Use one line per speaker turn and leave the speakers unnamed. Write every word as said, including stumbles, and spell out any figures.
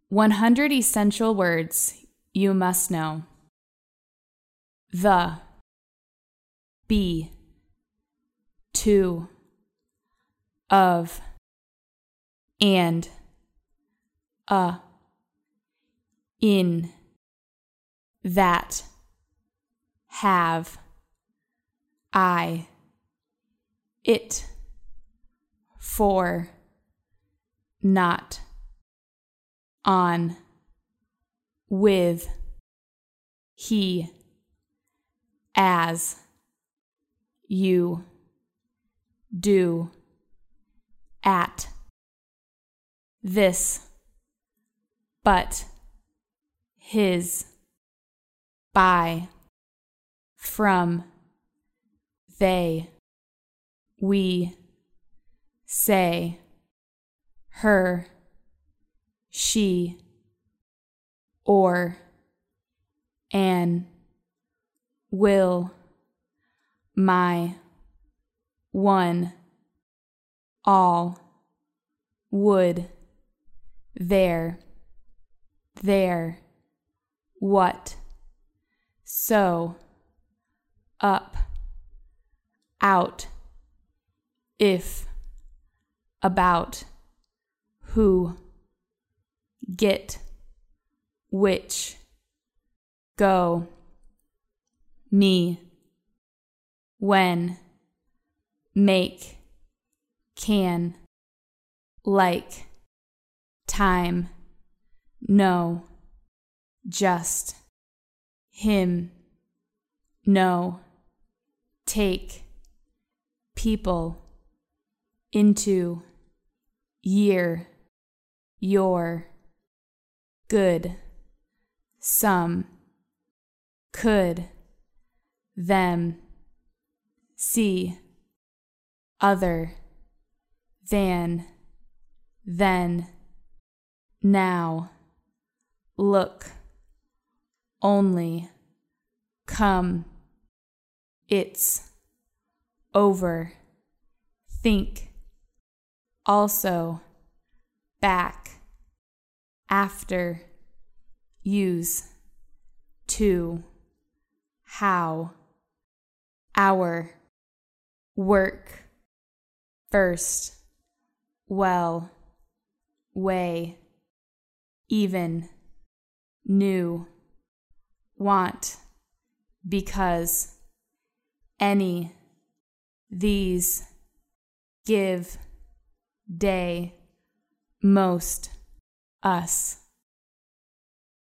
one hundred essential words you must know. The, be, to, of, and, a, in, that, have, I, it, for, not, on, with, he, as, you, do, at, this, but, his, by, from, they, we, say, her, she, or, an, will, my, one, all, would, there, there, what, so, up, out, if, about, who, get, which, go, me, when, make, can, like, time, no, just, him, no, take, people, into, year, your, good, some, could, them, see, other, than, then, now, look, only, come, it's, over, think, also, back, after, use, to, how, hour, work, first, well, way, even, new, want, because, any, these, give, day, most, us.